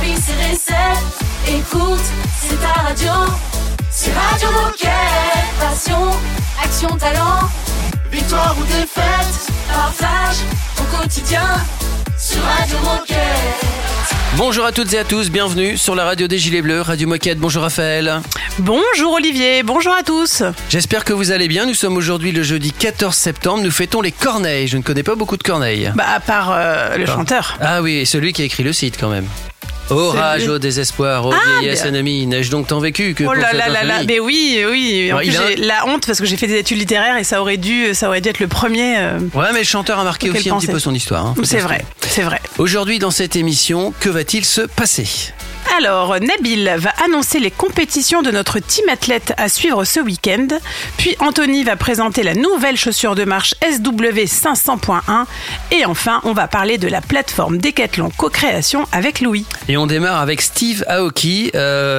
Paris c'est recette. Écoute, c'est ta radio. C'est Radio Moquette. Passion, action, talent. Victoire ou défaite, partage au quotidien sur Radio Moquette. Bonjour à toutes et à tous, bienvenue sur la radio des Gilets Bleus, Radio Moquette. Bonjour Raphaël. Bonjour Olivier, bonjour à tous. J'espère que vous allez bien, nous sommes aujourd'hui le jeudi 14 septembre, nous fêtons les Corneilles. Je ne connais pas beaucoup de Corneilles. À part le chanteur. Ah oui, et celui qui a écrit le site quand même. Orage au désespoir, ô vieillesse ennemie, n'ai-je donc tant vécu que oh pour là cette là là là, infamie. mais oui. En plus, j'ai la honte parce que j'ai fait des études littéraires et ça aurait dû être le premier. Ouais, mais le chanteur a marqué aussi un petit peu son histoire. C'est vrai. Aujourd'hui, dans cette émission, que va-t-il se passer ? Alors, Nabil va annoncer les compétitions de notre team athlète à suivre ce week-end. Puis Anthony va présenter la nouvelle chaussure de marche SW 500.1. Et enfin, on va parler de la plateforme Decathlon Co-création avec Louis. Et on démarre avec Steve Aoki,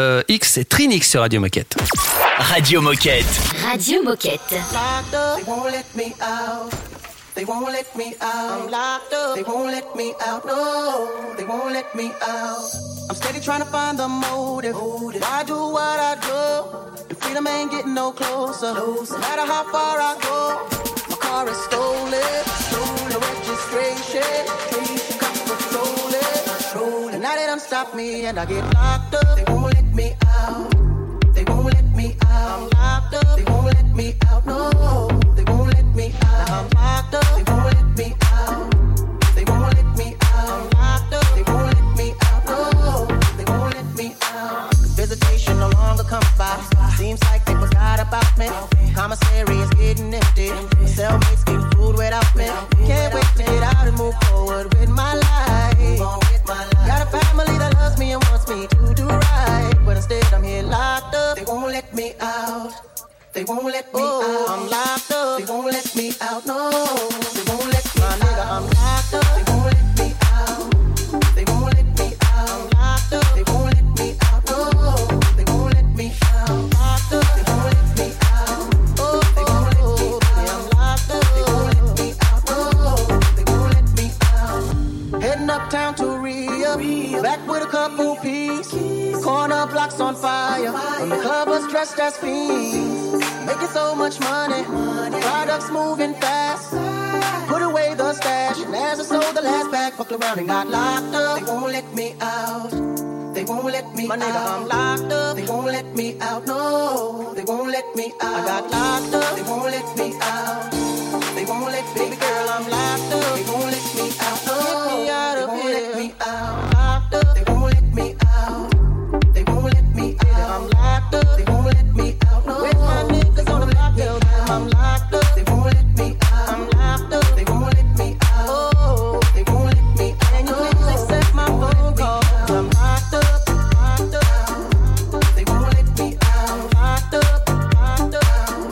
X et Trinix sur Radio Moquette. Radio Moquette. Radio Moquette. They won't let me out. They won't let me out. I'm locked up. They won't let me out. No, they won't let me out. I'm steady trying to find the motive. Why do what I do? And freedom ain't getting no closer. No matter how far I go, my car is stolen. No registration. Cops patrolling. And now they done stop me and I get locked up. They won't let me out. They won't let me out. I'm locked up. They won't let me out. No, they won't let me out. I'm locked up. They won't let me out. They won't let me out. I'm locked up. They won't let me out. No, they won't let me out. Visitation no longer comes by. Seems like they forgot about me. Commissary is getting empty. Cellmates getting food without me. Can't wait to get out and move forward with my life. Got a family that loves me and wants me to do right, but instead I'm here locked up. They won't let me out. They won't let me out. I'm locked up. They won't let me out. No, they won't let me out. Nigga, I'm locked up. They won't let me out. They won't let me out. I'm locked up. They won't let me out. No, they won't let me out. I'm locked up. They won't let me out. Oh, they won't let me out. I'm locked up. They won't let me out. No, they won't let me out. Heading uptown to Rio, back with a couple P's. Corner blocks on fire. And the club was dressed as fiends. Making so much money. Products moving fast. Put away the stash. And as I sold the last bag, fucked around and got locked up. They won't let me out. They won't let me out. My nigga, I'm locked up. They won't let me out. No, they won't let me out. I got locked up. They won't let me out. They won't let me, baby girl, I'm locked up. They won't let me out. No, get me out of here. They won't let me out. Locked up. They won't let me out. They won't let me out. I'm locked up. They won't let me out. No, where's my niggas on the block? I'm locked up. They won't let me out. I'm locked up. They won't let me out. Oh, they won't let me out. And you please accept my phone call. I'm locked up. Locked up. They won't let me out. I'm locked up. Locked up.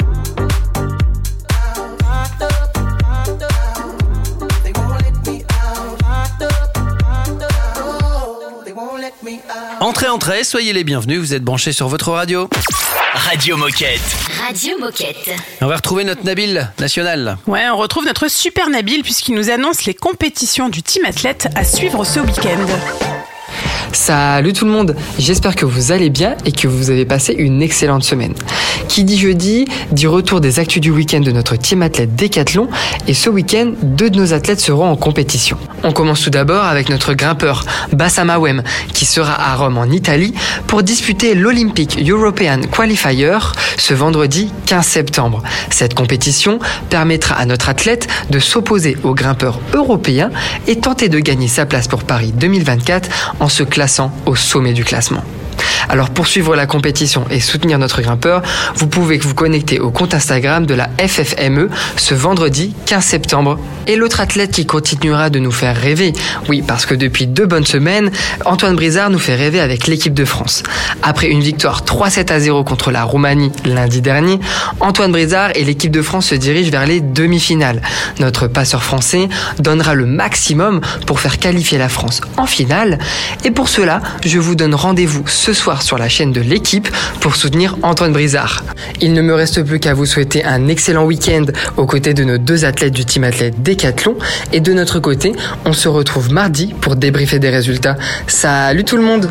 Locked up. Locked up. They won't let me out. Locked up. Locked up. Oh, they won't let me out. Entrez, soyez les bienvenus, vous êtes branchés sur votre radio. Radio Moquette. Radio Moquette. On va retrouver notre Nabil national. Ouais, on retrouve notre super Nabil puisqu'il nous annonce les compétitions du team athlète à suivre ce week-end. Salut tout le monde, j'espère que vous allez bien et que vous avez passé une excellente semaine. Qui dit jeudi, dit retour des actus du week-end de notre team athlète Decathlon et ce week-end, 2 de nos athlètes seront en compétition. On commence tout d'abord avec notre grimpeur Bassam Awem qui sera à Rome en Italie pour disputer l'Olympic European Qualifier ce vendredi 15 septembre. Cette compétition permettra à notre athlète de s'opposer aux grimpeurs européens et tenter de gagner sa place pour Paris 2024 en se classant au sommet du classement. Alors pour suivre la compétition et soutenir notre grimpeur, vous pouvez vous connecter au compte Instagram de la FFME ce vendredi 15 septembre. Et l'autre athlète qui continuera de nous faire rêver, oui parce que depuis 2 bonnes semaines, Antoine Brizard nous fait rêver avec l'équipe de France. Après une victoire 3-7-0 contre la Roumanie lundi dernier, Antoine Brizard et l'équipe de France se dirigent vers les demi-finales. Notre passeur français donnera le maximum pour faire qualifier la France en finale. Et pour cela, je vous donne rendez-vous ce soir soir sur la chaîne de l'équipe pour soutenir Antoine Brizard. Il ne me reste plus qu'à vous souhaiter un excellent week-end aux côtés de nos 2 athlètes du Team Athlète Décathlon. Et de notre côté, on se retrouve mardi pour débriefer des résultats. Salut tout le monde!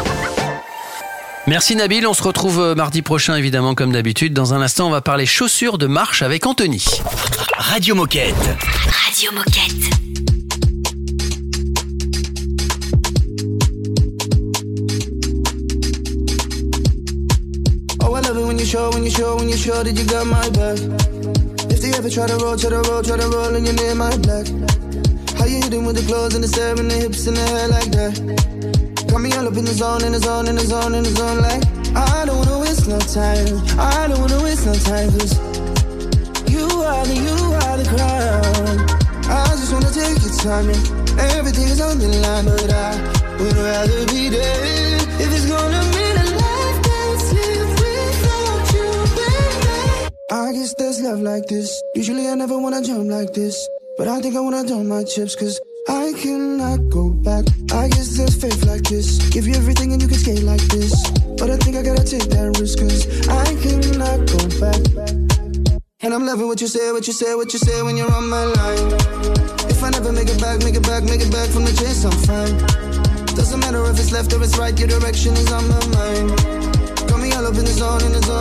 Merci Nabil, on se retrouve mardi prochain évidemment comme d'habitude. Dans un instant, on va parler chaussures de marche avec Anthony. Radio Moquette. Radio Moquette. Oh, I love it when you show that you got my back. If they ever try to roll and you're near my black. How you hitting with the clothes and the stare and the hips and the hair like that? Got me all up in the zone, like I don't wanna waste no time. I don't wanna waste no time, cause you are the crown. I just wanna take your time and everything is on the line, but I would rather be there if it's gonna mean a life that's lived without you, baby. I guess there's love like this. Usually I never wanna jump like this, but I think I wanna dump my chips, cause I cannot go back. I guess there's faith like this. Give you everything and you can skate like this, but I think I gotta take that risk, cause I cannot go back. And I'm loving what you say when you're on my line. If I never make it back from the chase, I'm fine. Doesn't matter if it's left or it's right, your direction is on my mind. Got me all up in the zone,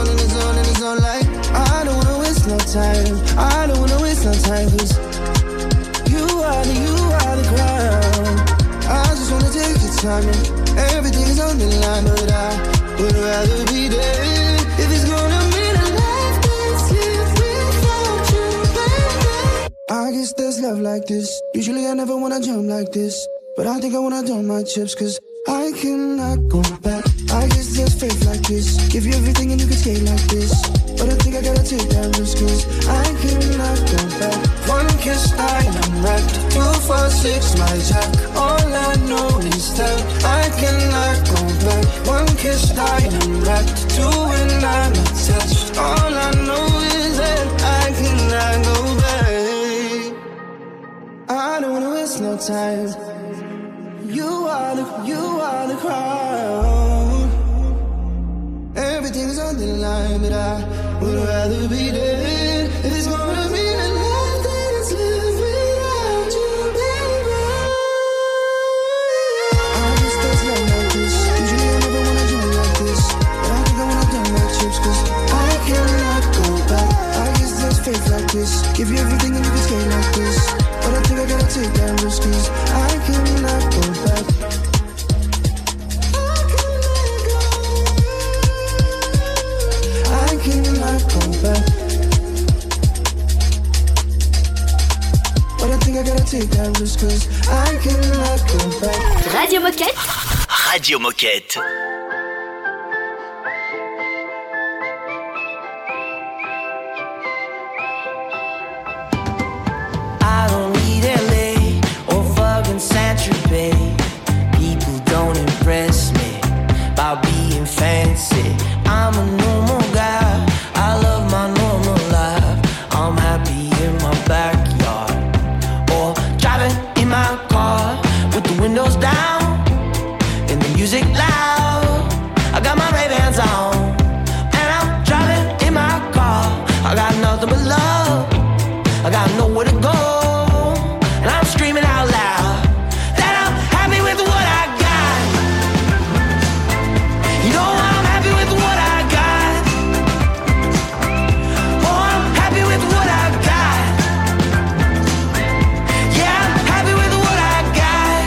like I don't wanna waste no time. I don't wanna waste no time, cause you are the crown. I just wanna take your time and everything is on the line, but I would rather be there if it's gonna mean a life that's lived without you, baby. I guess there's love like this. Usually I never wanna jump like this, but I think I wanna dump my chips, cause I cannot go back. I guess there's faith like this. Give you everything and you can skate like this, but I think I gotta take that risk, cause I cannot go back. One kiss, I am wrecked. 2, 4, 6, my jack. All I know is that I cannot go back. One kiss, I am wrecked. 2 and I'm attached. All I know is that I cannot go back. I don't wanna waste no time. You are the crown. Everything's on the line, but I would rather be there if it's gonna be a life that's lived without you, baby. I guess there's love like this. Usually I never wanna jump like this, but I think I wanna dump my chips, cause I cannot go back. I guess there's faith like this. Give you everything and you can skate like this, but I think I gotta take that risk, cause I cannot go back. I cannot go back, but I think I gotta take that risk, cause I cannot go back. Radio Moquette. Radio Moquette. I don't need LA or fucking Saint-Tropez. People don't impress me by being fancy. I'm a normal guy, I love my normal life. I'm happy in my backyard, or driving in my car with the windows down and the music loud. I got my Ray-Bans on and I'm driving in my car. I got nothing but love, I got nowhere to go, and I'm screaming out loud that I'm happy with what I got. You know I'm happy with what I got. Oh, I'm happy with what I got. Yeah, I'm happy with what I got.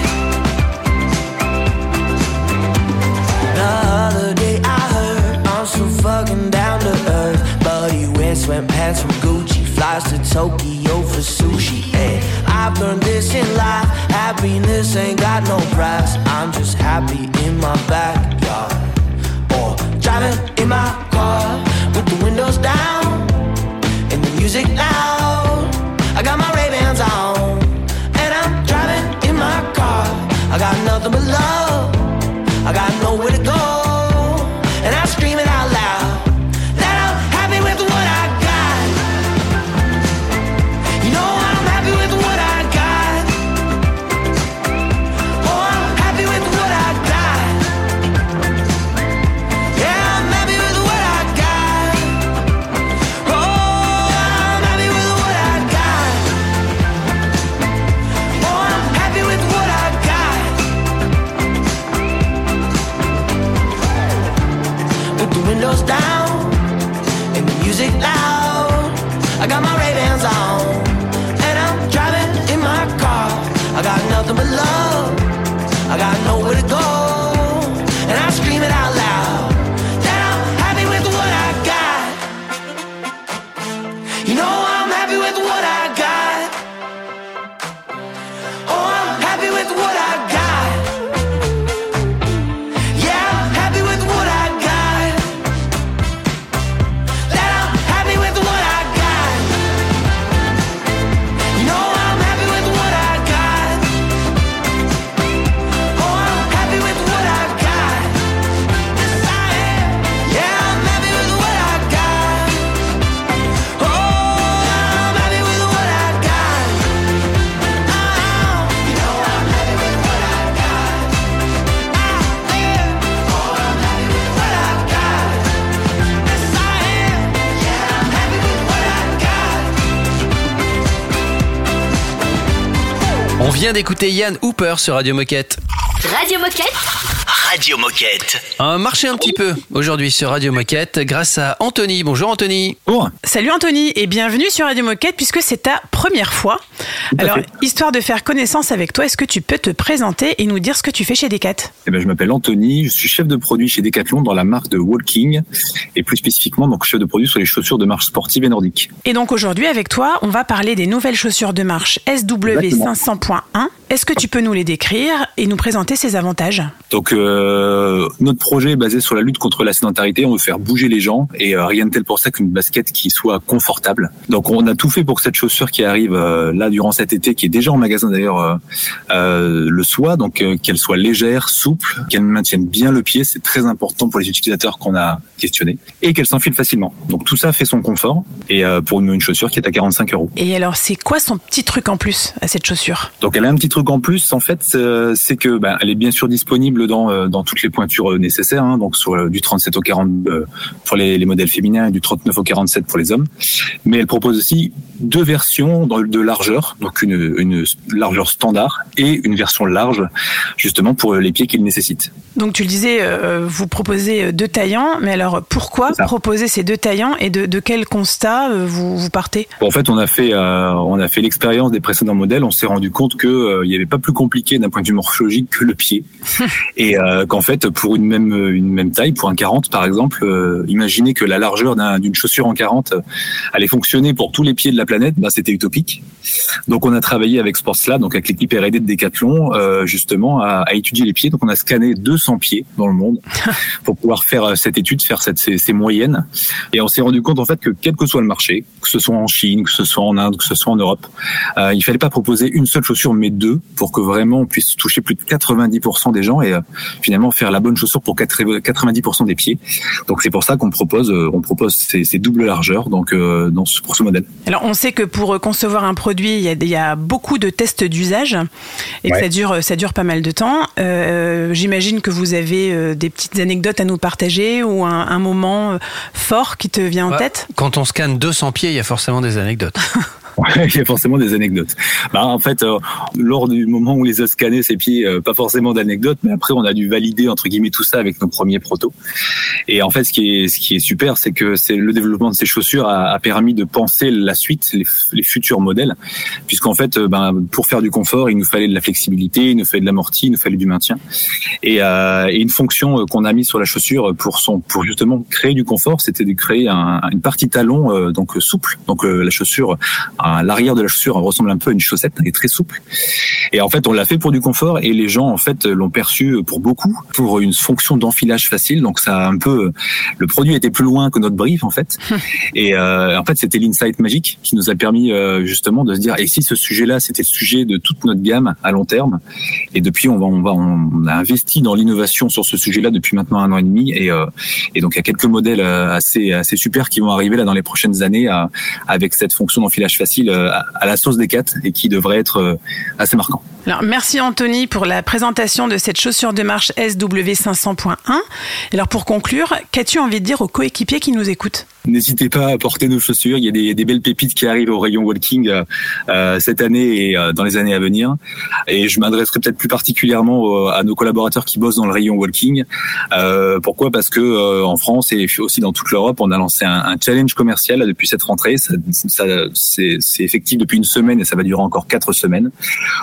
The other day I heard I'm so fucking down to earth, but he wears sweatpants from Gucci, flies to Tokyo for sushi. Hey, I've learned this in life, happiness ain't got no price. I'm just happy in my backyard, or driving in my car with the windows down and the music loud. I got my Ray-Bans on and I'm driving in my car. I got nothing but love, I got nowhere to go, and I'm screaming out loud that I'm happy with what I got. You know I'm happy with what I got. Oh, I'm happy with what I got. You know I'm happy with what I got. Oh, I'm happy with what I got. Yeah, I'm happy with what I got. That I'm happy with what I got. You know I'm happy with what I got. Oh, I'm happy with what I got. Yes, I am. Yeah, I'm happy with what I got. Oh, I'm happy with what I got. You know I'm happy with what I got. Oh, I'm happy with what I got. Yes, I am. Yeah, I'm happy with what I got. On vient d'écouter Yann Hooper sur Radio Moquette. Radio Moquette. Radio Moquette. On va marcher un petit peu aujourd'hui sur Radio Moquette grâce à Anthony. Bonjour Anthony. Bon, Salut Anthony et bienvenue sur Radio Moquette puisque c'est ta première fois. Alors, histoire de faire connaissance avec toi, est-ce que tu peux te présenter et nous dire ce que tu fais chez Decat ? je m'appelle Anthony, je suis chef de produit chez Decathlon dans la marque de Walking et plus spécifiquement donc chef de produit sur les chaussures de marche sportive et nordique. Et donc aujourd'hui avec toi, on va parler des nouvelles chaussures de marche SW500.1. Est-ce que tu peux nous les décrire et nous présenter ses avantages ? Donc notre projet est basé sur la lutte contre la sédentarité, on veut faire bouger les gens et rien de tel pour ça qu'une basket qui soit confortable. Donc on a tout fait pour que cette chaussure qui arrive là durant cet été, qui est déjà en magasin d'ailleurs, le soit, donc qu'elle soit légère, souple, qu'elle maintienne bien le pied, c'est très important pour les utilisateurs qu'on a questionnés, et qu'elle s'enfile facilement. Donc tout ça fait son confort et pour une chaussure qui est à 45 €. Et alors c'est quoi son petit truc en plus à cette chaussure ? Donc elle a un petit truc en plus en fait, c'est que elle est bien sûr disponible dans toutes les pointures nécessaires, hein, donc sur du 37 au 40 pour les modèles féminins et du 39 au 47 pour les hommes. Mais elle propose aussi deux versions de largeur, donc une largeur standard et une version large, justement pour les pieds qu'il nécessite. Donc tu le disais, vous proposez deux taillants, mais alors pourquoi proposer ces deux taillants et de quel constat vous partez ? En fait, on a fait l'expérience des précédents modèles, on s'est rendu compte que il n'y avait pas plus compliqué d'un point de vue morphologique que le pied. Et qu'en fait, pour une même taille, pour un 40 par exemple, imaginez que la largeur d'une chaussure en 40 allait fonctionner pour tous les pieds de la planète, c'était utopique. Donc on a travaillé avec Sportslab, donc avec l'équipe R&D de Decathlon, justement à étudier les pieds. Donc on a scanné 200 pieds dans le monde pour pouvoir faire cette étude, faire ces moyennes. Et on s'est rendu compte en fait que quel que soit le marché, que ce soit en Chine, que ce soit en Inde, que ce soit en Europe, il fallait pas proposer une seule chaussure mais deux pour que vraiment on puisse toucher plus de 90% des gens et finalement faire la bonne chaussure pour 90% des pieds. Donc c'est pour ça qu'on propose ces doubles largeurs donc pour ce modèle. Alors on sait que pour concevoir un produit, il y a beaucoup de tests d'usage et que ça dure pas mal de temps. J'imagine que vous avez des petites anecdotes à nous partager ou un moment fort qui te vient en tête. Quand on scanne 200 pieds, il y a forcément des anecdotes. Ouais, il y a forcément des anecdotes. En fait, lors du moment où on les a scannés, ces pieds, pas forcément d'anecdotes, mais après on a dû valider entre guillemets tout ça avec nos premiers protos. Et en fait, ce qui est super, c'est que le développement de ces chaussures a permis de penser la suite, les futurs modèles, puisqu'en fait, pour faire du confort, il nous fallait de la flexibilité, il nous fallait de l'amorti, il nous fallait du maintien, et une fonction qu'on a mis sur la chaussure pour justement créer du confort, c'était de créer une partie talon donc souple, donc la chaussure. L'arrière de la chaussure ressemble un peu à une chaussette, elle est très souple. Et en fait, on l'a fait pour du confort et les gens en fait l'ont perçu pour beaucoup pour une fonction d'enfilage facile. Donc ça a un peu, le produit était plus loin que notre brief en fait. Et en fait, c'était l'insight magique qui nous a permis justement de se dire et si ce sujet-là, c'était le sujet de toute notre gamme à long terme. Et depuis, on a investi dans l'innovation sur ce sujet-là depuis maintenant 1 an et demi. Et donc il y a quelques modèles assez super qui vont arriver là dans les prochaines années avec cette fonction d'enfilage facile à la sauce Decat et qui devrait être assez marquant. Alors, merci Anthony pour la présentation de cette chaussure de marche SW500.1. Alors pour conclure, qu'as-tu envie de dire aux coéquipiers qui nous écoutent ? N'hésitez pas à porter nos chaussures. Il y a des belles pépites qui arrivent au rayon Walking cette année et dans les années à venir. Et je m'adresserai peut-être plus particulièrement à nos collaborateurs qui bossent dans le rayon Walking. Pourquoi ? Parce que en France et aussi dans toute l'Europe, on a lancé un challenge commercial depuis cette rentrée. C'est effectif depuis une semaine et ça va durer encore 4 semaines. Où en fait le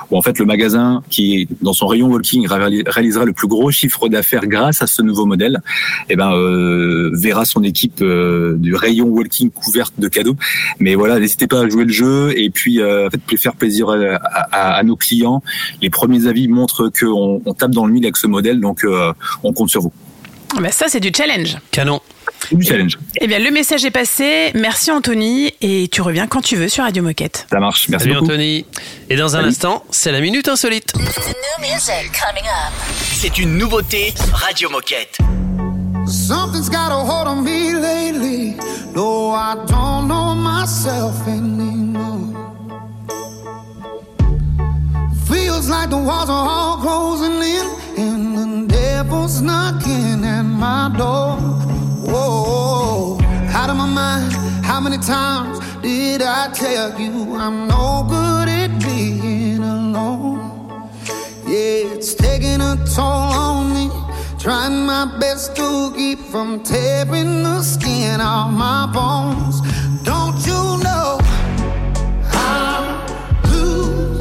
magasin qui, dans son rayon walking, réalisera le plus gros chiffre d'affaires grâce à ce nouveau modèle, verra son équipe du rayon walking couverte de cadeaux. Mais voilà, n'hésitez pas à jouer le jeu et puis faire plaisir à nos clients. Les premiers avis montrent qu'on tape dans le mille avec ce modèle, donc on compte sur vous. Ça, c'est du challenge. Canon. Du challenge. Eh bien, le message est passé. Merci Anthony et tu reviens quand tu veux sur Radio Moquette. Ça marche. Merci Salut beaucoup. Anthony. Et dans un instant, c'est la Minute Insolite. C'est une nouveauté Radio Moquette. Something's got a hold on me lately. No, I don't know myself anymore. Feels like the walls are all closing in and the devil's knocking at my door. Whoa, out of my mind. How many times did I tell you I'm no good at being alone? Yeah, it's taking a toll on me. Trying my best to keep from tearing the skin off my bones. Don't you know I lose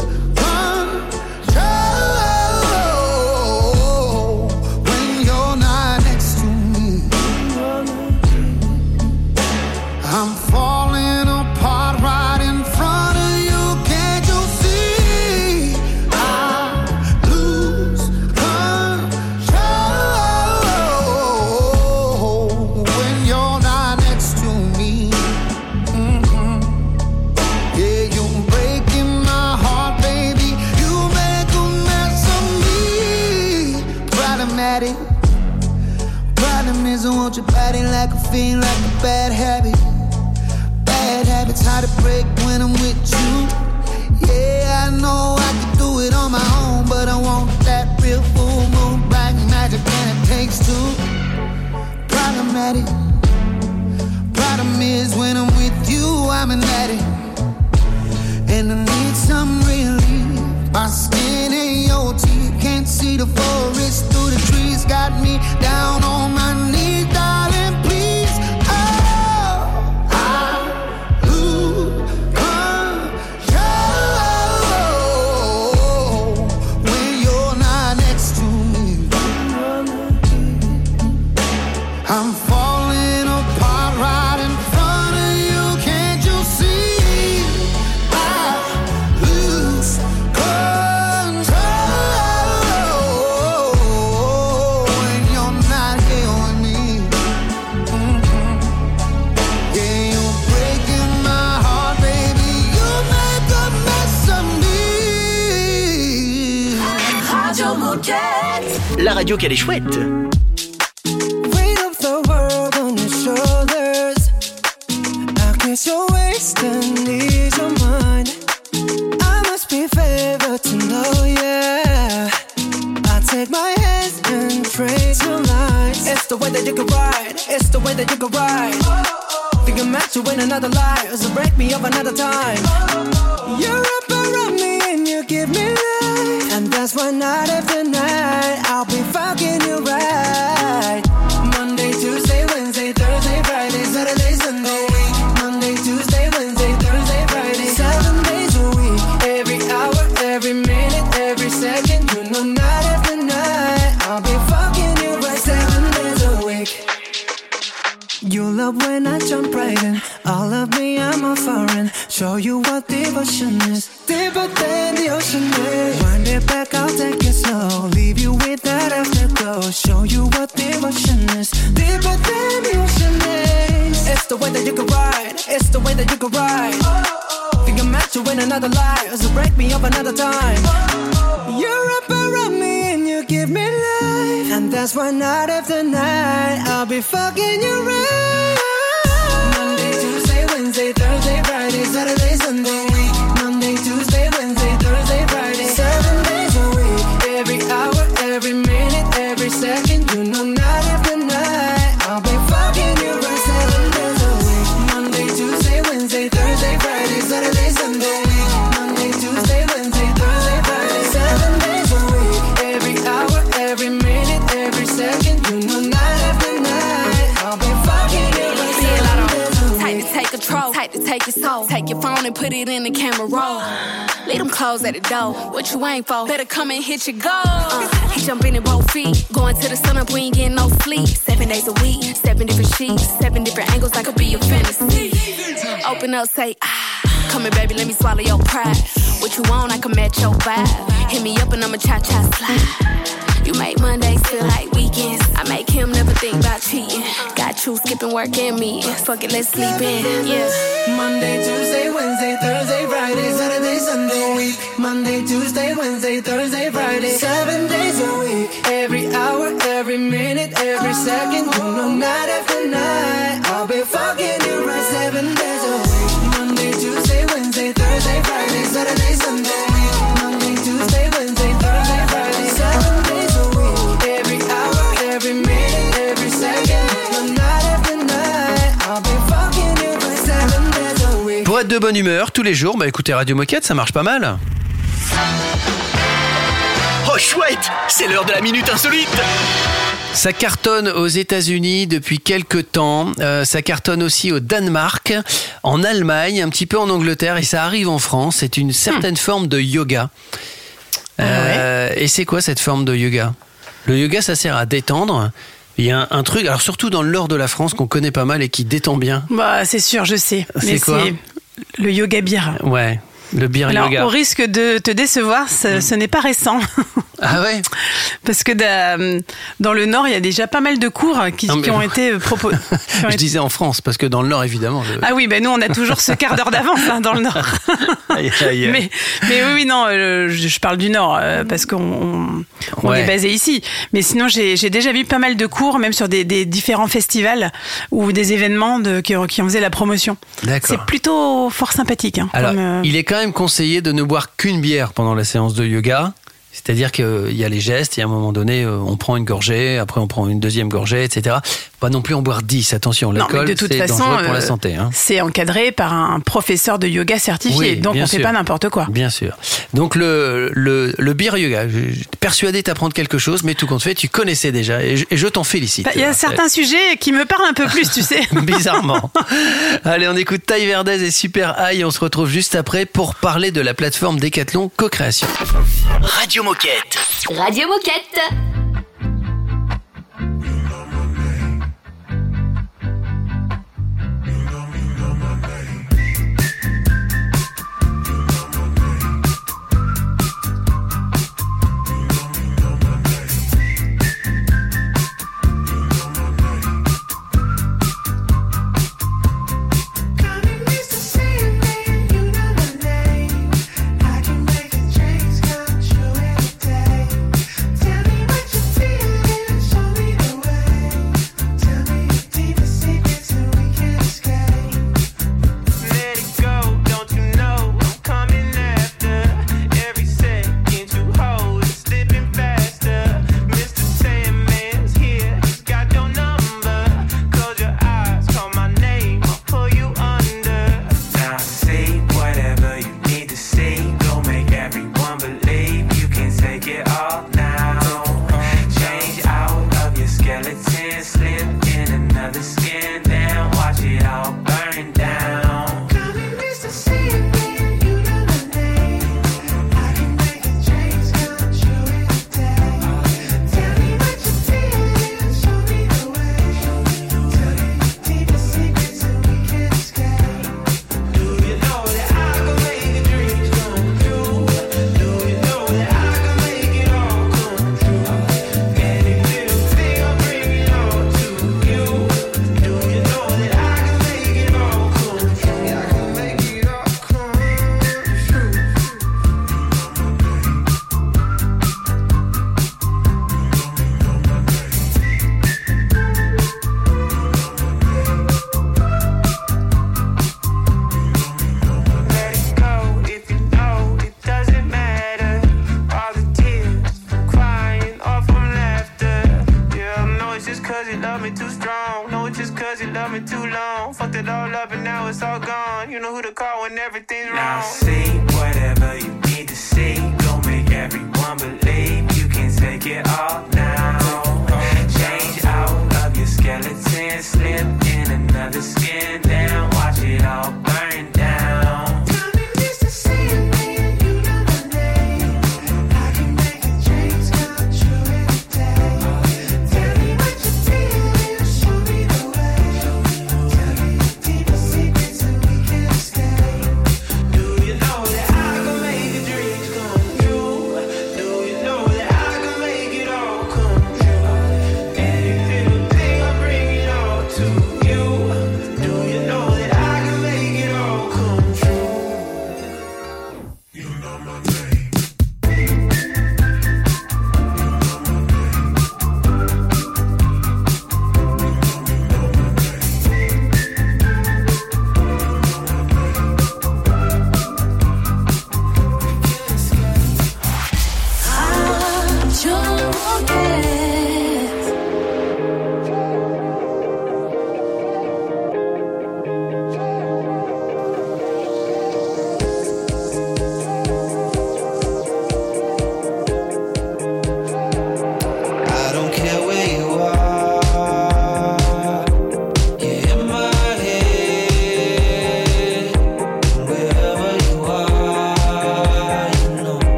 control when you're not next to me? I'm falling apart right in front of you. Can't you see? I lose control when you're not next to me. Yeah, you're breaking my heart, baby. You make a mess of me. Problematic. Problem is I want your body like a fiend, like a bad habit. Bad habits hard to break when I'm with you. Yeah, I know I can do it on my own, but I want that real full moon, black magic, and it takes two. Problematic. Problem is when I'm with you, I'm an addict, and I need some relief. My skin and your teeth, can't see the forest through the trees. Got me down on my knees, darling, please. Oh, I lose control when you're not next to me. I'm falling apart right in front of you. Can't you see? I lose control when you're not here with me. Yeah, you're breaking my heart, baby. You make a mess of me. Radio Moquette. La radio qu'elle est chouette. Weight of the world on your shoulders. I kiss your waist and ease your mind. I must be favored to know, yeah. I take my hands and trace your lines. It's the way that you can ride. It's the way that you can ride. Think I'm meant to win another life, so break me up another time. You're up around me and you give me life, and that's why night after night I'll be fucking you right. Monday, Tuesday, Wednesday, Thursday, Friday, Saturday, Sunday. Monday, Tuesday, Wednesday, Thursday, Friday. 7 days a week, every hour, every minute, every second. You know night after night I'll be fucking you right. 7 days a week. You love when I jump right in. All of me, I'm a foreign. Show you what devotion is. Deeper than the ocean is. Wind it back, I'll take it slow. Leave you with that afterglow. Show you what devotion is. Deeper than the ocean is. It's the way that you can ride. It's the way that you can ride. Think I'm meant to win another life, so break me up another time. You're up around me and you give me life, and that's why night after night I'll be fucking you right. Monday, Tuesday, Wednesday, Thursday, Friday, Saturday, Sunday. Monday, Tuesday, Wednesday, Thursday, Friday. 7 days a week, every hour, every minute, every second. You know night after night I'll be fucking you right. 7 days a week. Monday, Tuesday, Wednesday, Thursday, Friday, Saturday, Sunday. Monday, Tuesday, Wednesday, Thursday, Friday. 7 days a week, every hour, every minute, every second. You know night after night I'll be fucking you right. 7 days a week. Take control. Type to can take your soul. Take your phone and put it in the camera roll. Leave them clothes at the door. What you ain't for? Better come and hit your goal. He jumping in both feet. Going to the sun up, we ain't getting no sleep. 7 days a week, 7 different sheets, 7 different angles, that could be your fantasy. Open up, say, come here, baby, let me swallow your pride. What you want, I can match your vibe. Hit me up and I'ma cha-cha slide. You make Mondays feel like weekends. I make him never think about cheating. Got you skipping work and meetings. Fuck it, let's sleep in, yeah. Monday, Tuesday, Wednesday, Thursday, Friday, Saturday, Sunday, week. Monday, Tuesday, Wednesday, Thursday, Friday, 7 days a week. Every hour, every minute, every second. You know, night after night, I'll be fucking you right 7 days a week. Monday, Tuesday, Wednesday, Thursday, Friday, Saturday, Sunday, week. Monday, Tuesday, Wednesday, Thursday, Friday, 7 days a week. Every hour, every minute, every second. No night after night, I'll be fucking you right 7 days a week. Pour être de bonne humeur tous les jours, bah écoutez Radio Moquette, ça marche pas mal. Oh chouette, c'est l'heure de la minute insolite. Ça cartonne aux États-Unis depuis quelques temps. Ça cartonne aussi au Danemark, en Allemagne, un petit peu en Angleterre, et ça arrive en France. C'est une certaine forme de yoga. Et c'est quoi cette forme de yoga ? Le yoga, ça sert à détendre. Il y a un truc, alors surtout dans le nord de la France, qu'on connaît pas mal et qui détend bien. Bah, c'est sûr, je sais. C'est mais quoi ? C'est le yoga beer. Ouais. Le beer Alors, yoga. au risque de te décevoir, ce n'est pas récent. Ah ouais ? Parce que dans le Nord, il y a déjà pas mal de cours qui ont été proposés. Je disais en France, parce que dans le Nord, évidemment. Ah oui, ben nous, on a toujours ce quart d'heure d'avance dans le Nord. Aïe, aïe. Mais oui, non, je parle du Nord, parce qu'on est basé ici. Mais sinon, j'ai déjà vu pas mal de cours, même sur des différents festivals ou des événements qui en faisaient la promotion. D'accord. C'est plutôt fort sympathique. Hein, alors, il est quand même conseillé de ne boire qu'une bière pendant la séance de yoga. C'est-à-dire qu'il y a les gestes, et à un moment donné, on prend une gorgée, après on prend une deuxième gorgée, etc. Pas non plus en boire 10, attention, l'alcool, c'est dangereux pour la santé. Hein. C'est encadré par un professeur de yoga certifié, donc on ne fait pas n'importe quoi. Bien sûr. Donc le beer yoga, je suis persuadé d'apprendre quelque chose, mais tout compte fait, tu connaissais déjà, et je t'en félicite. Il y a certains sujets qui me parlent un peu plus, tu sais. Bizarrement. Allez, on écoute Taille Verdez et Super High, on se retrouve juste après pour parler de la plateforme Decathlon Co-Création. Radio Moquette. Radio Moquette. Skeleton, slip in another skin, then watch it all burn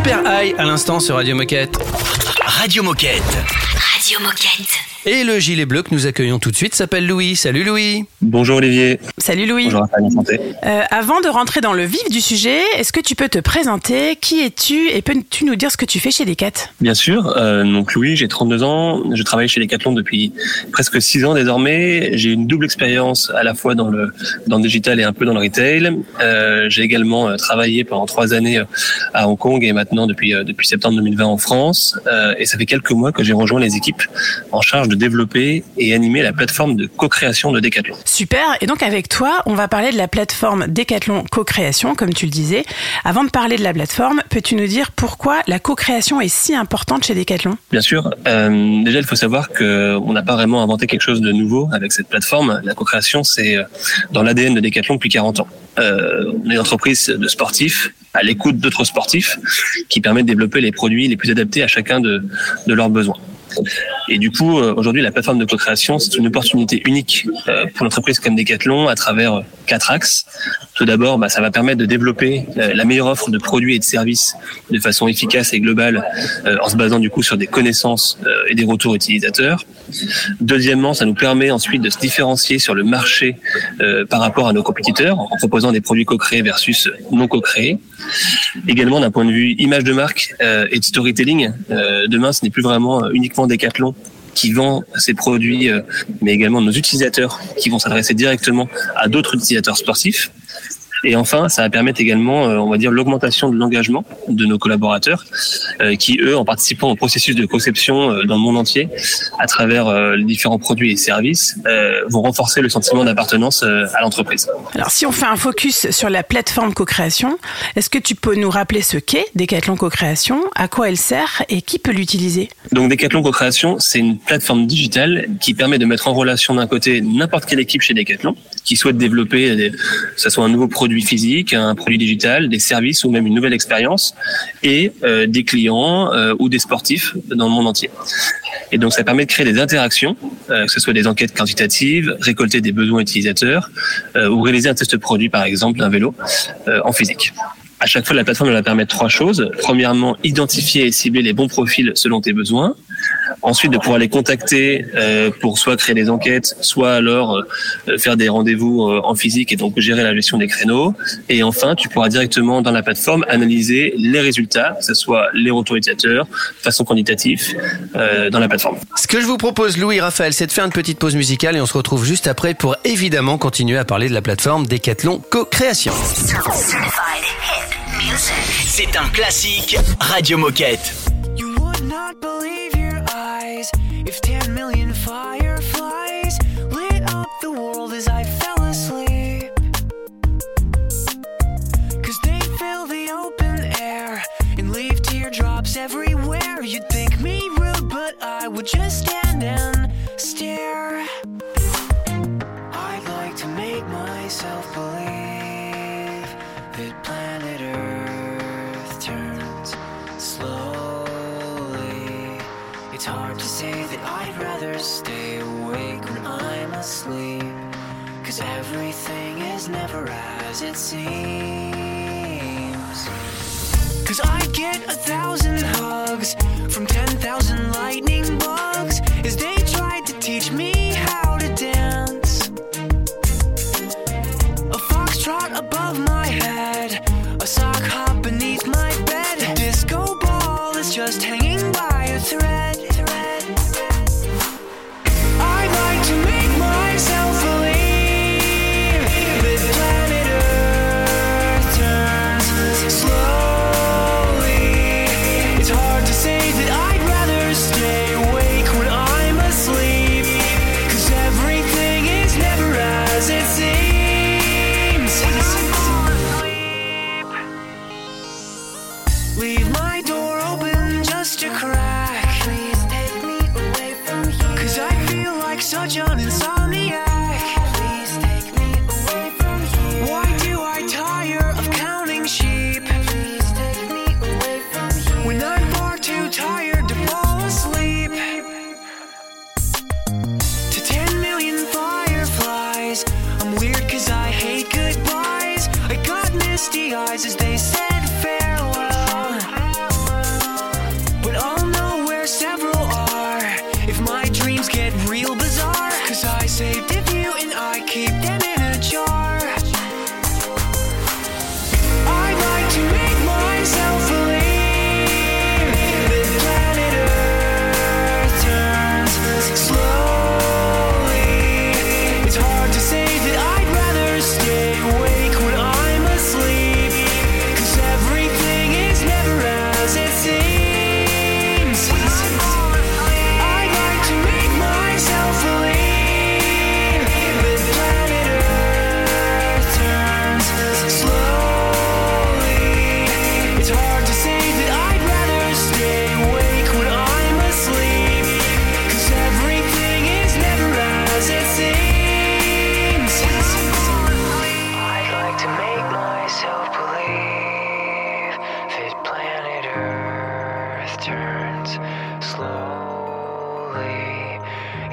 Super High à l'instant sur Radio Moquette. Radio Moquette. Radio Moquette. Et le gilet bleu que nous accueillons tout de suite s'appelle Louis. Salut Louis. Bonjour Olivier. Salut Louis. Bonjour Raphaël, santé. Avant de rentrer dans le vif du sujet, est-ce que tu peux te présenter? Qui es-tu et peux-tu nous dire ce que tu fais chez Decat? Bien sûr. Donc Louis, j'ai 32 ans. Je travaille chez Decathlon depuis presque 6 ans désormais. J'ai une double expérience à la fois dans le digital et un peu dans le retail. J'ai également travaillé pendant 3 années à Hong Kong et maintenant depuis septembre 2020 en France. Et ça fait quelques mois que j'ai rejoint les équipes en charge de développer et animer la plateforme de co-création de Decathlon. Super. Et donc avec toi, on va parler de la plateforme Decathlon Co-création, comme tu le disais. Avant de parler de la plateforme, peux-tu nous dire pourquoi la co-création est si importante chez Decathlon? Bien sûr. Déjà, il faut savoir qu'on n'a pas vraiment inventé quelque chose de nouveau avec cette plateforme. La co-création, c'est dans l'ADN de Decathlon depuis 40 ans. On est une entreprise de sportifs à l'écoute d'autres sportifs qui permet de développer les produits les plus adaptés à chacun de leurs besoins. Et du coup, aujourd'hui, la plateforme de co-création, c'est une opportunité unique pour l'entreprise comme Decathlon à travers 4 axes. Tout d'abord, ça va permettre de développer la meilleure offre de produits et de services de façon efficace et globale en se basant du coup sur des connaissances et des retours utilisateurs. Deuxièmement, ça nous permet ensuite de se différencier sur le marché par rapport à nos compétiteurs en proposant des produits co-créés versus non co-créés. Également, d'un point de vue image de marque et de storytelling, demain, ce n'est plus vraiment uniquement Decathlon qui vend ces produits, mais également nos utilisateurs qui vont s'adresser directement à d'autres utilisateurs sportifs. Et enfin, ça va permettre également, on va dire, l'augmentation de l'engagement de nos collaborateurs qui, eux, en participant au processus de conception dans le monde entier, à travers les différents produits et services, vont renforcer le sentiment d'appartenance à l'entreprise. Alors, si on fait un focus sur la plateforme co-création, est-ce que tu peux nous rappeler ce qu'est Decathlon Co-création, à quoi elle sert et qui peut l'utiliser? Donc, Decathlon Co-création, c'est une plateforme digitale qui permet de mettre en relation d'un côté n'importe quelle équipe chez Decathlon qui souhaite développer, que ce soit un nouveau produit physique, un produit digital, des services ou même une nouvelle expérience, et des clients ou des sportifs dans le monde entier. Et donc ça permet de créer des interactions, que ce soit des enquêtes quantitatives, récolter des besoins utilisateurs ou réaliser un test produit par exemple d'un vélo en physique. À chaque fois, la plateforme elle va permettre 3 choses. Premièrement, identifier et cibler les bons profils selon tes besoins. Ensuite, de pouvoir les contacter pour soit créer des enquêtes, soit alors faire des rendez-vous en physique et donc gérer la gestion des créneaux. Et enfin, tu pourras directement dans la plateforme analyser les résultats, que ce soit les retours utilisateurs, de façon quantitative, dans la plateforme. Ce que je vous propose, Louis et Raphaël, c'est de faire une petite pause musicale et on se retrouve juste après pour évidemment continuer à parler de la plateforme Decathlon Co-création. C'est un classique Radio Moquette. You would not believe your eyes if 10 million fireflies lit up the world as I fell asleep. 'Cause they fill the open air and leave teardrops everywhere. You'd think me rude, but I would just stand and stare. I'd like to make myself believe that planet Earth turns slowly. It's hard to say that I'd rather stay awake when I'm asleep, 'cause everything is never as it seems. 'Cause I'd get 1,000 hugs from 10,000 lightning bugs as they tried to teach me how to dance. A foxtrot above my head, a sock hop beneath my bed, a disco ball is just hanging by a thread. I'd like to make myself believe that planet Earth turns slowly. It's hard to say that I'd rather stay awake when I'm asleep, 'cause everything is never as it seems. When I fall asleep, leave my door open just a crack. Please take me away from here, 'cause I feel like such an insomniac. Please take me away from here. Why do I tire of counting sheep? Please take me away from here, when I'm far too tired to fall asleep. To 10 million fireflies, I'm weird 'cause I hate goodbyes. I got misty eyes as they said farewell.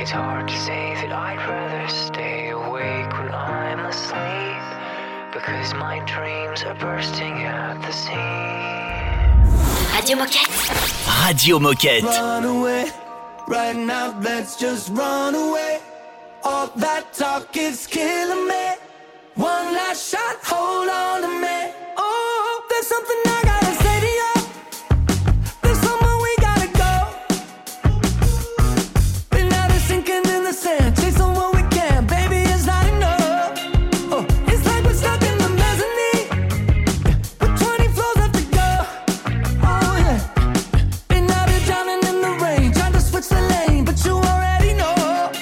It's hard to say that I'd rather stay awake when I'm asleep, because my dreams are bursting at the seams. Radio Moquette. Radio Moquette. Run away, right now let's just run away. All that talk is killing me. One last shot, hold on to me. Oh, there's something I gotta say to you. There's somewhere we gotta go. Been out of sinking in the sand, chasing what we can, baby, it's not enough. Oh, it's like we're stuck in the mezzanine, with 20 floors left to go. Oh yeah, been out here drowning in the rain, trying to switch the lane, but you already know.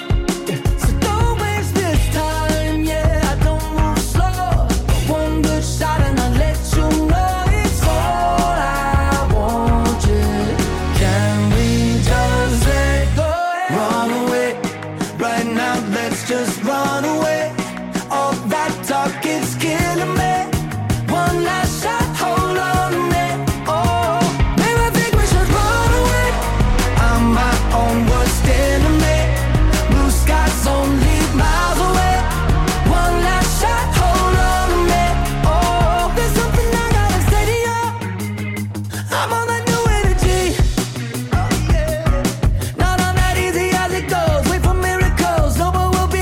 So don't waste this time, yeah, I don't move slow. One good shot and I'll let you know it's all I want, yeah. Can we just let go? Run away, right now let's just run away. All that talk is killing me. One last shot, hold on to me. Oh, maybe I think we should run away. I'm my own worst enemy. Blue skies only miles away. One last shot, hold on to me. Oh, there's something I gotta say to you. I'm on that new energy. Oh yeah, not on that easy as it goes. Wait for miracles, no, but we'll be.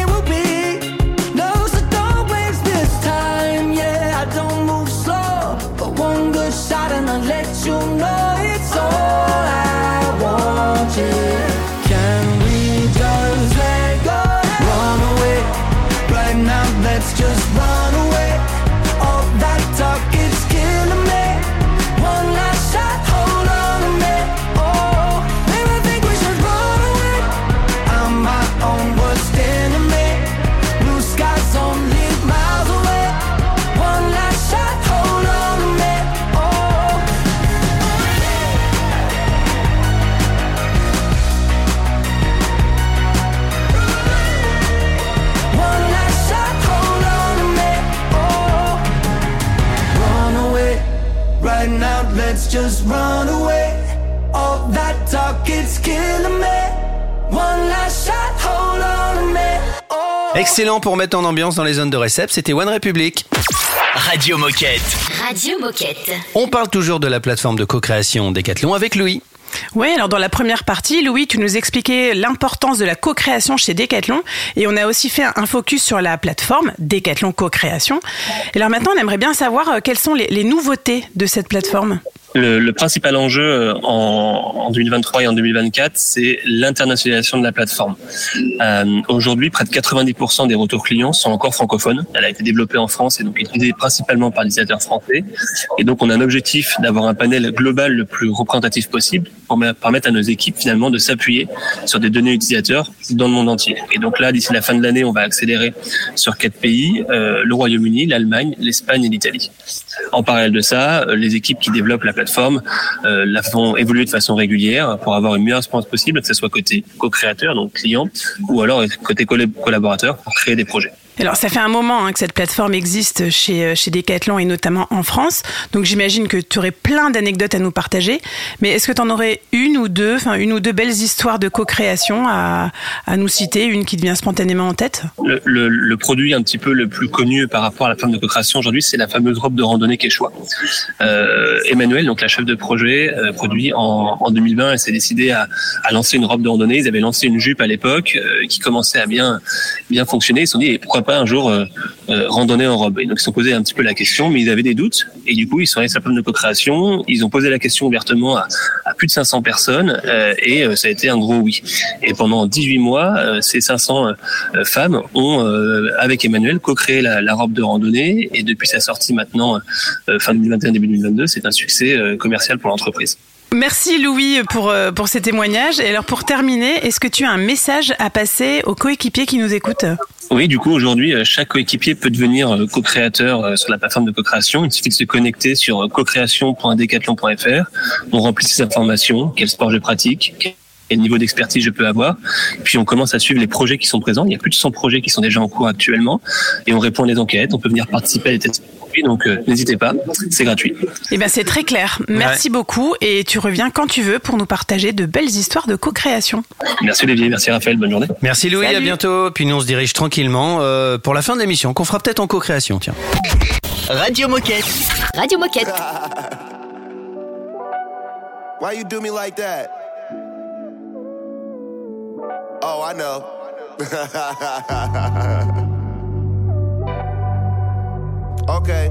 No, so don't waste this time. Yeah, I don't move slow, but one good shot and I'll let you know it's all I want. Yeah, can we just let go? Run away, right now let's just run away. All that talk is killing me. One last shot, hold on to me. Oh, maybe I think we should run away. I'm my own worst enemy. Blue skies only miles away. One last shot, hold on to me. Oh, one last shot, hold on to me. Oh, run away, right now let's just run away. All that talk, it's killing me. One last shot, hold on to me. Oh. Excellent pour mettre en ambiance dans les zones de récep, c'était One Republic. Radio Moquette. Radio Moquette. On parle toujours de la plateforme de co-création Decathlon avec Louis. Oui, alors dans la première partie, Louis, tu nous expliquais l'importance de la co-création chez Decathlon et on a aussi fait un focus sur la plateforme Decathlon Co-création. Et alors maintenant, on aimerait bien savoir quelles sont les nouveautés de cette plateforme. Le principal enjeu en 2023 et en 2024, c'est l'internationalisation de la plateforme. Aujourd'hui, près de 90% des retours clients sont encore francophones. Elle a été développée en France et donc utilisée principalement par les utilisateurs français. Et donc, on a un objectif d'avoir un panel global le plus représentatif possible pour permettre à nos équipes finalement de s'appuyer sur des données utilisateurs dans le monde entier. Et donc là, d'ici la fin de l'année, on va accélérer sur 4 pays, le Royaume-Uni, l'Allemagne, l'Espagne et l'Italie. En parallèle de ça, les équipes qui développent la plateforme la font évoluer de façon régulière pour avoir une meilleure expérience possible, que ce soit côté co-créateur, donc client, ou alors côté collaborateur pour créer des projets. Alors, ça fait un moment que cette plateforme existe chez Decathlon et notamment en France. Donc, j'imagine que tu aurais plein d'anecdotes à nous partager. Mais est-ce que tu en aurais une ou deux belles histoires de co-création à nous citer, une qui te vient spontanément en tête? Le produit un petit peu le plus connu par rapport à la plateforme de co-création aujourd'hui, c'est la fameuse robe de randonnée Quechua. Emmanuel, donc la chef de projet, produit en 2020, elle s'est décidée à lancer une robe de randonnée. Ils avaient lancé une jupe à l'époque qui commençait à bien fonctionner. Ils se sont dit, pourquoi pas un jour randonner en robe. Et donc ils se sont posé un petit peu la question, mais ils avaient des doutes. Et du coup, ils sont allés sur la plateforme de co-création. Ils ont posé la question ouvertement à plus de 500 personnes et ça a été un gros oui. Et pendant 18 mois, ces 500 femmes ont, avec Emmanuel, co-créé la robe de randonnée. Et depuis sa sortie maintenant, fin 2021, début 2022, c'est un succès commercial pour l'entreprise. Merci Louis pour ces témoignages. Et alors pour terminer, est-ce que tu as un message à passer aux coéquipiers qui nous écoutent ? Oui, du coup, aujourd'hui, chaque coéquipier peut devenir co-créateur sur la plateforme de co-création. Il suffit de se connecter sur cocréation.decathlon.fr. On remplit ces informations, quel sport je pratique, quel niveau d'expertise je peux avoir. Puis on commence à suivre les projets qui sont présents. Il y a plus de 100 projets qui sont déjà en cours actuellement. Et on répond à des enquêtes. On peut venir participer à des tests gratuit, donc n'hésitez pas, c'est gratuit. Eh bien, c'est très clair. Merci beaucoup et tu reviens quand tu veux pour nous partager de belles histoires de co-création. Merci Olivier, merci Raphaël, bonne journée. Merci Louis, Salut. à bientôt. Puis nous on se dirige tranquillement pour la fin de l'émission, qu'on fera peut-être en co-création, tiens. Radio Moquette. Radio Moquette. Why you do me like that? Oh, I know. Okay.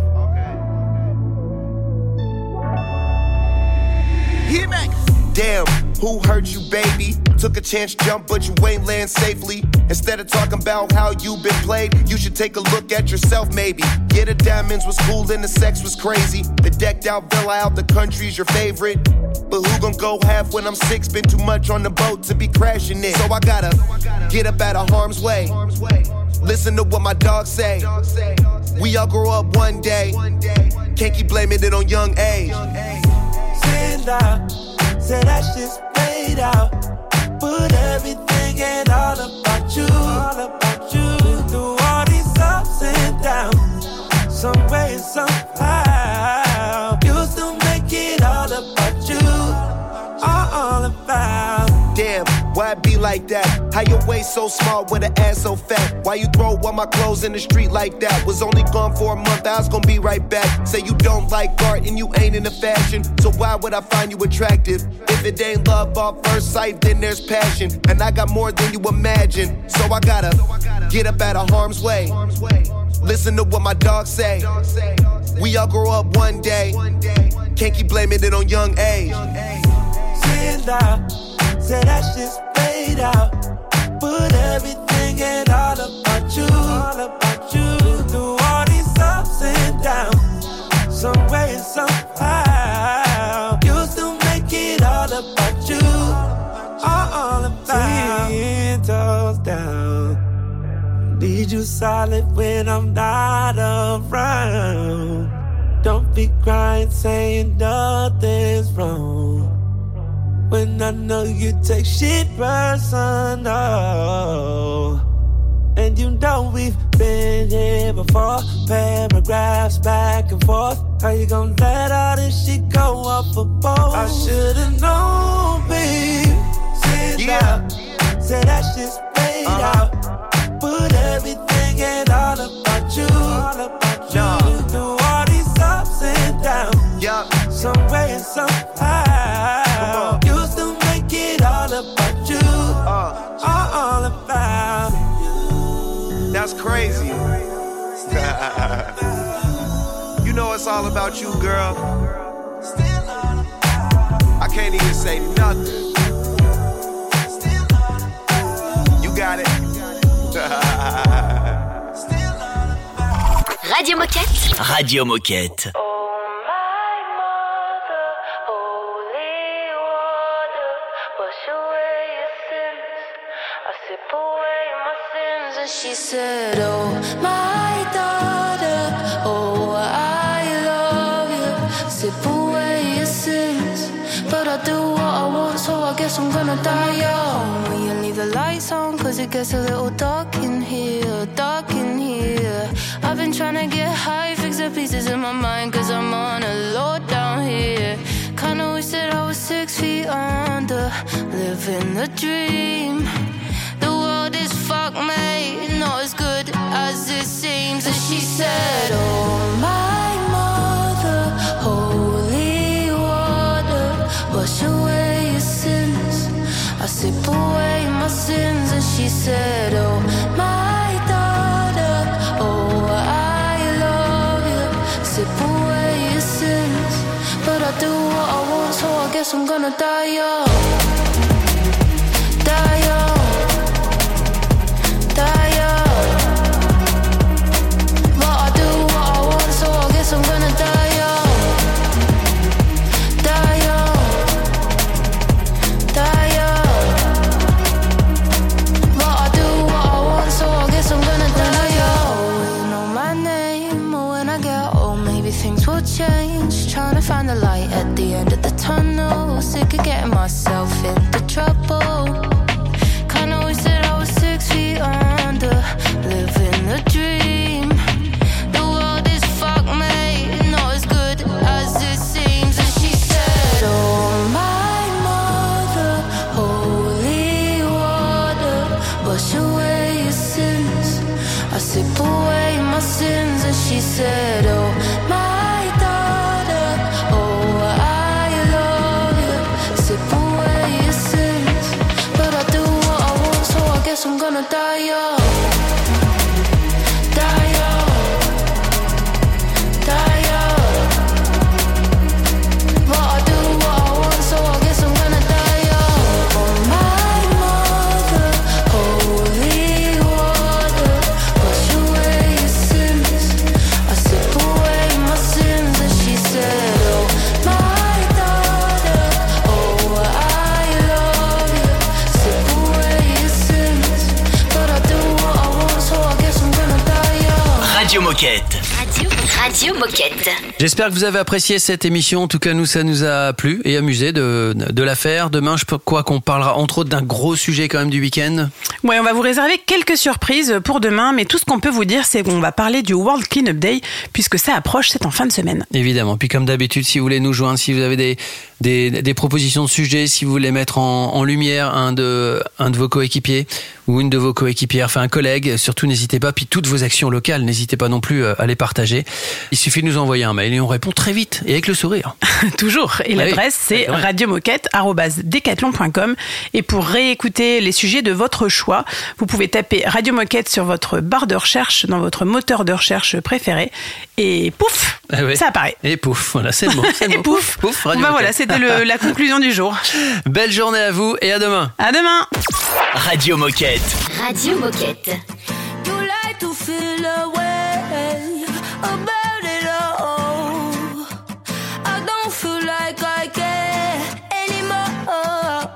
Damn, who hurt you, baby? Took a chance, jump, but you ain't land safely. Instead of talking about how you been played, you should take a look at yourself, maybe. Yeah, the diamonds was cool and the sex was crazy. The decked out villa out the country's your favorite. But who gon' go half when I'm 6? Been too much on the boat to be crashing it. So I gotta get up out of harm's way. Listen to what my dogs say. We all grow up one day. Can't keep blaming it on young age. Sit down, say that shit's played out. Put everything and all about you. Through all these ups and downs, some way, somehow, you still make it all about you. All about. Damn, why it be like that? How your waist so small with an ass so fat? Why you throw all my clothes in the street like that? Was only gone for a month, I was gonna be right back. Say you don't like art and you ain't into fashion, so why would I find you attractive? If it ain't love off first sight, then there's passion. And I got more than you imagine, so I gotta get up out of harm's way. Listen to what my dogs say. We all grow up one day. Can't keep blaming it on young age. Sit down, say that shit's played out. Put everything and all about you. Through all these ups and downs, some way, somehow, you still make it all about you. All about. 10 toes down. Need you solid when I'm not around. Don't be crying, saying nothing's wrong, when I know you take shit personal. And you know we've been here before. Paragraphs back and forth. How you gon' let all this shit go off a boat? I should've known, babe. Sit down, say that shit's played out. Put everything and all about you. Through all these ups and downs, some way and somehow, you still make it all about you. All about. That's crazy. You know it's all about you, girl. I can't even say nothing. You got it. Radio Moquette. Radio Moquette. She said, oh, my daughter, oh, I love you. Sip away your sins, but I do what I want, so I guess I'm gonna die young. Will you leave the lights on, cause it gets a little dark in here, dark in here. I've been trying to get high, fix the pieces in my mind, cause I'm on a low down here. Kinda wish that I was 6 feet under, living the dream. The world is fucked, mate, not as good as it seems. And she said, oh, my mother, holy water, wash away your sins. I sip away my sins. And she said, oh, my daughter, oh, I love you. Sip away your sins, but I do what I want, so I guess I'm gonna die young. Die young. I'm gonna die young, die young, die young. But I do what I want, so I guess I'm gonna die young. You know my name, but when I get old, maybe things will change. Trying to find the light at the end of the tunnel. Sick of getting myself into trouble. Kinda wish that I was 6 feet under, living the dream. The world is fucked, man. Moquette. Radio Moquette. J'espère que vous avez apprécié cette émission. En tout cas, nous, ça nous a plu et amusé de la faire. Demain, je crois qu'on parlera entre autres d'un gros sujet quand même du week-end. Ouais, on va vous réserver quelques surprises pour demain, mais tout ce qu'on peut vous dire, c'est qu'on va parler du World Cleanup Day, puisque ça approche, c'est en fin de semaine. Évidemment. Puis comme d'habitude, si vous voulez nous joindre, si vous avez des propositions de sujets, si vous voulez mettre en lumière un de vos coéquipiers ou une de vos coéquipières, enfin un collègue, surtout n'hésitez pas. Puis toutes vos actions locales, n'hésitez pas non plus à les partager. Il suffit de nous envoyer un mail et on répond très vite et avec le sourire. Toujours. Et l'adresse, c'est radiomoquette@decathlon.com. Et pour réécouter les sujets de votre choix, vous pouvez taper Radio Moquette sur votre barre de recherche dans votre moteur de recherche préféré. Et pouf, ça apparaît. Et pouf, voilà, c'est le mot. Et pouf, Radio Moquette. Voilà, c'était la conclusion du jour. Belle journée à vous et à demain. À demain. Radio Moquette. Radio Moquette. You like to feel away about it all. I don't feel like I care anymore.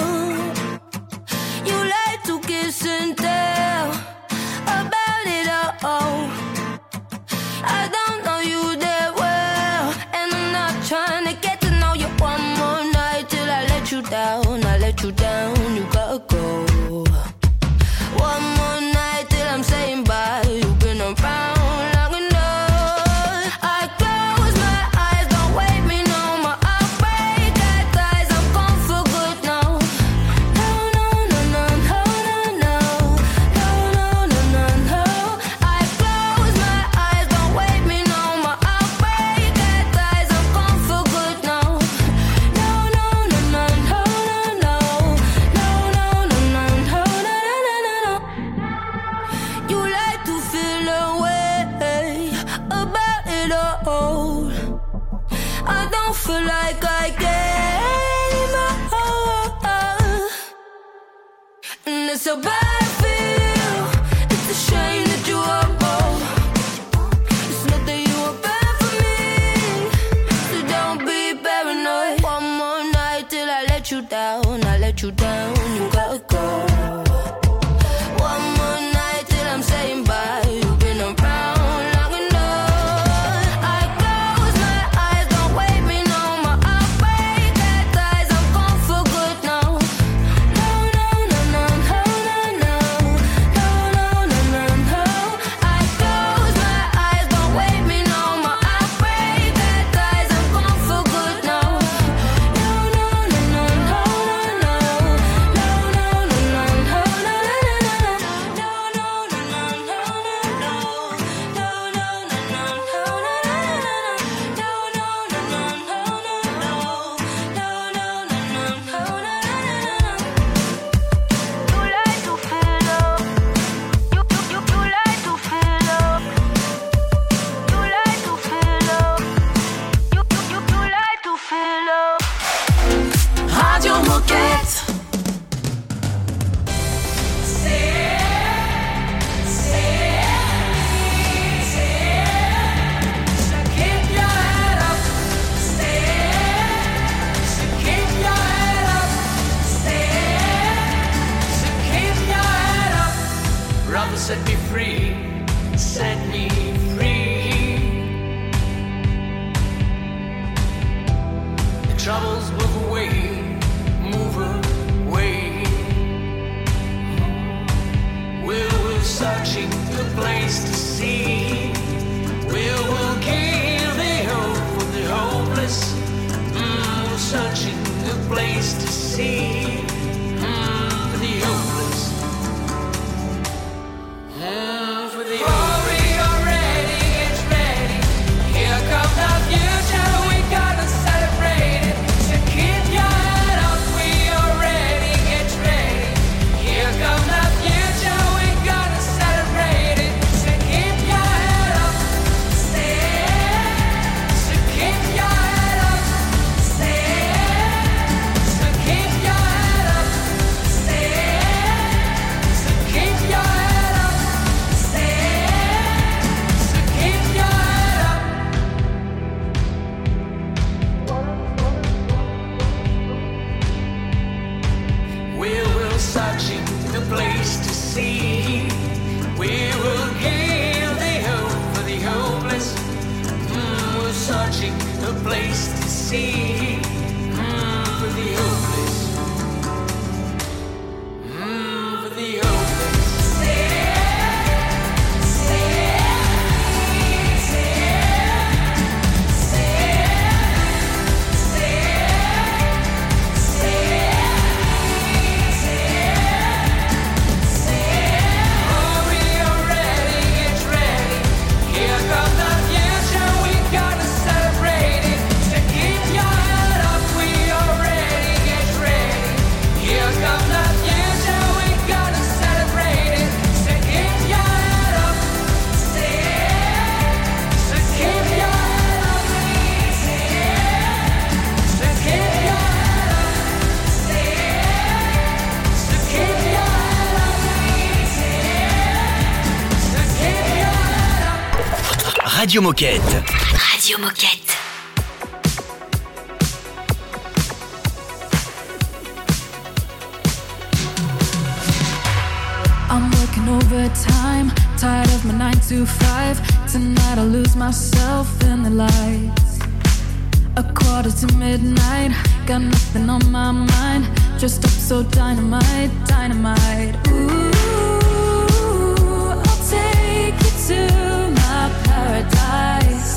You like to kiss and tell about it all. I don't know you that well, and I'm not trying to get to know you one more night till I let you down. I let you down, you gotta go. One more night till I'm saying bye. You've been around long enough. I close my eyes, don't wake me no more. I'll break that ties, I'm gone for good now. No, no, no, no, no, no, no, no, no, no, no. I close my eyes, don't wake me no more. I'll break that ties, I'm gone for good now. No, no, no, no, no, no, no, no, no, no, no, no, no. You like to feel away about it all. I don't feel like I care anymore. And it's so bad I feel. It's a shame that you are bold. It's not that you are bad for me, so don't be paranoid. One more night till I let you down. I let you down, you gotta go. One more night till I'm saying bye. You've been around long enough. I close my eyes, don't wake me no more. I'll break that ties, I'm gone for good now. No, no, no, no, no, no, no, no, no, no, no. I close my eyes, don't wake me no more. I'll break that ties, I'm gone for good now. No, no, no, no, no, no, no, no, no, no, no, no. Radio Moquette. Brother, set me free, set me free. The troubles move away, move away. We're searching the place to see. We'll give the hope for the hopeless. We're searching the place to see. For the hopeless. For the warrior ready, it's ready. Here comes the future, we gotta celebrate it. So keep your head up, we are ready, it's ready. Here comes the future, we gotta celebrate it. So keep your head up, so keep your head up, so keep your head up, so keep your head up. Searching the place to see. We will give the hope for the place to see. For the hopeless. For the hopeless. Radio Moquette. Radio Moquette. I'm working overtime, tired of my 9 to 5. Tonight I'll lose myself in the lights. 1:45, got nothing on my mind. Dressed up so dynamite, dynamite. Ooh, I'll take you to my paradise.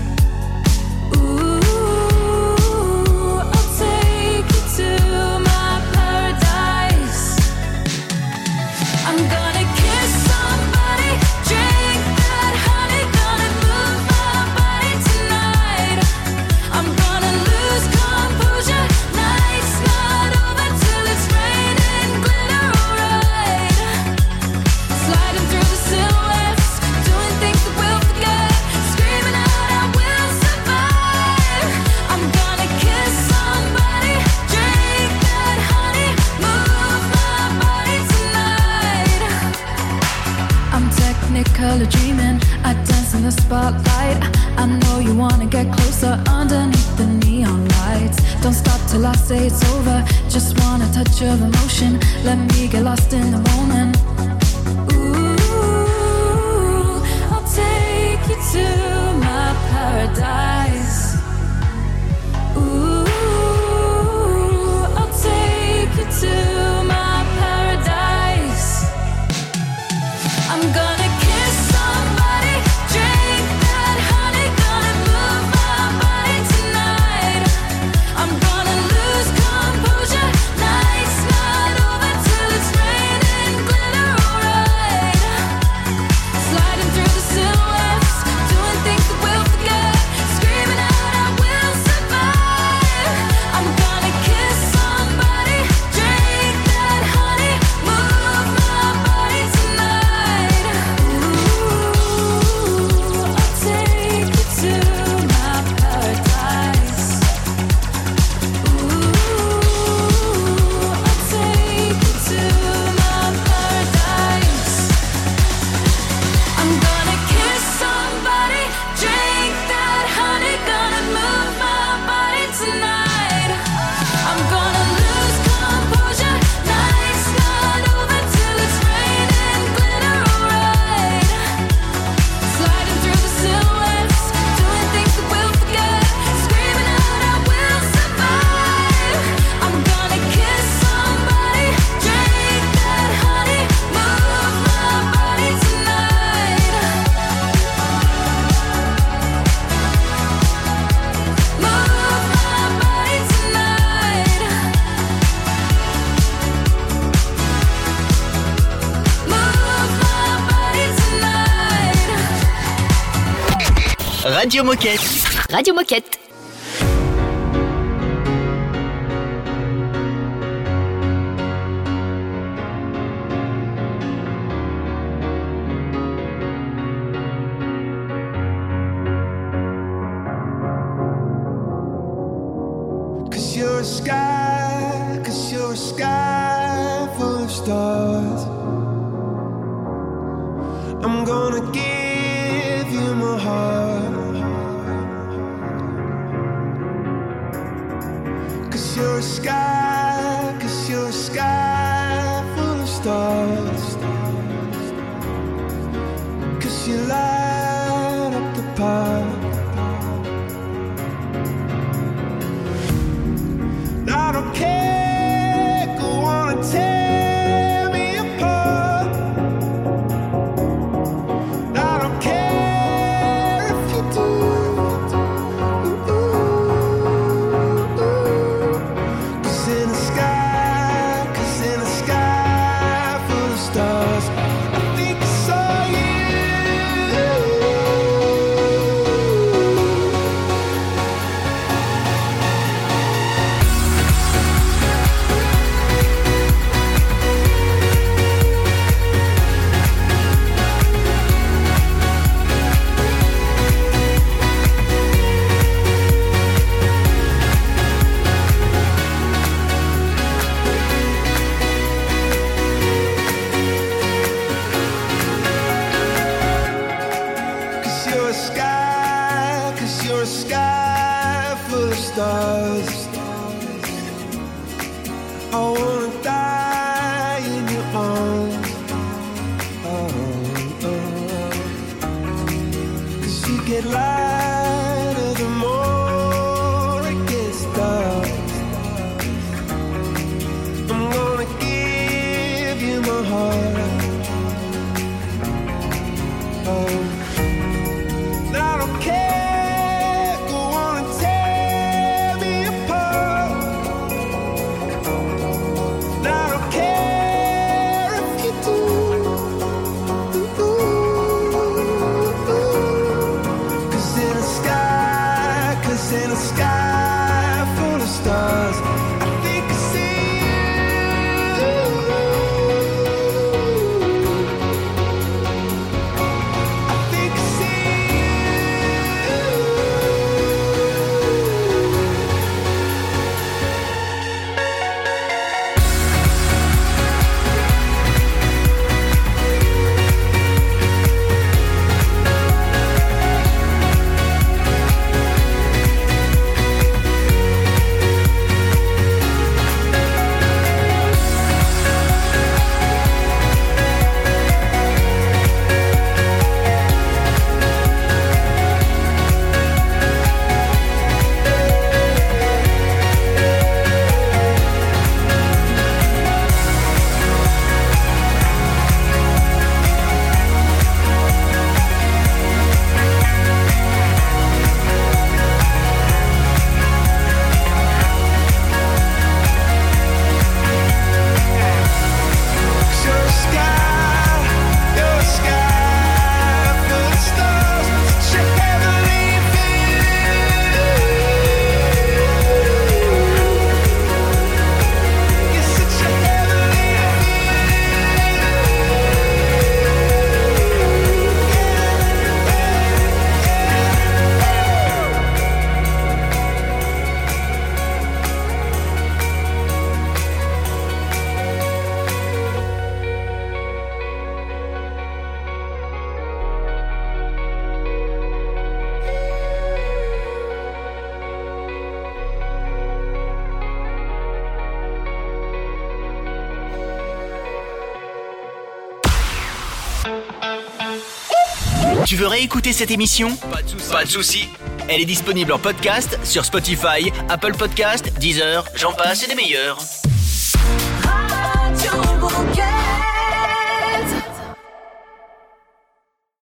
Ooh, I'll take you to my paradise. I'm gonna kiss somebody, drink that honey, gonna move my body tonight. I'm gonna lose composure, night's not over till it's raining glitter, alright. Sliding through the silhouettes, doing things that we'll forget, screaming out I will survive. I'm gonna kiss somebody, drink that honey, move my body tonight. I'm technicolor dreaming, I dance in the spotlight. I know you wanna get closer underneath the neon lights. Don't stop till I say it's over, just want a touch of emotion. Let me get lost in the moment. Ooh, I'll take you to my paradise. Ooh, I'll take you to my paradise. I'm gonna kiss somebody, drink that honey, gonna move my body tonight. I'm gonna lose composure, night's not over till it's raining glitter, alright. Sliding through the silhouettes, doing things that we'll forget, screaming out I will survive. I'm gonna kiss somebody, drink that honey, move my body tonight. Ooh, I'll take you to my paradise. Ooh, I'll take you to my paradise. I'm gonna kiss somebody, drink that honey, gonna move my body tonight. I'm gonna lose composure, night's not over till it's raining glitter, alright. Sliding through the silhouettes, doing things that we'll forget, screaming out I will survive. I'm gonna kiss somebody, drink that honey, move my body tonight. Move my body tonight. Move my body tonight. Radio Moquette. Radio Moquette. Cause you're a sky full of stars. I'm gonna give you my heart. Cause you're a sky full of stars. Cause you light up the park. I wanna die in your arms. Cause you get lighter the more it gets dark. I'm gonna give you my heart. I don't care, go on and tear me apart. I don't care if you do. Cause in a sky full of stars, I think I see you. I think I see Tu veux réécouter cette émission ? Pas de souci. Elle est disponible en podcast sur Spotify, Apple Podcast, Deezer, j'en passe et des meilleurs.